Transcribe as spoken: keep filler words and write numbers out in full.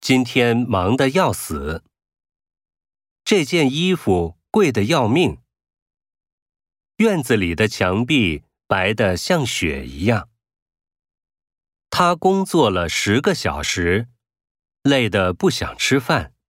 今天忙得要死。这件衣服贵得要命。院子里的墙壁白得像雪一样。他工作了十个小时，累得不想吃饭。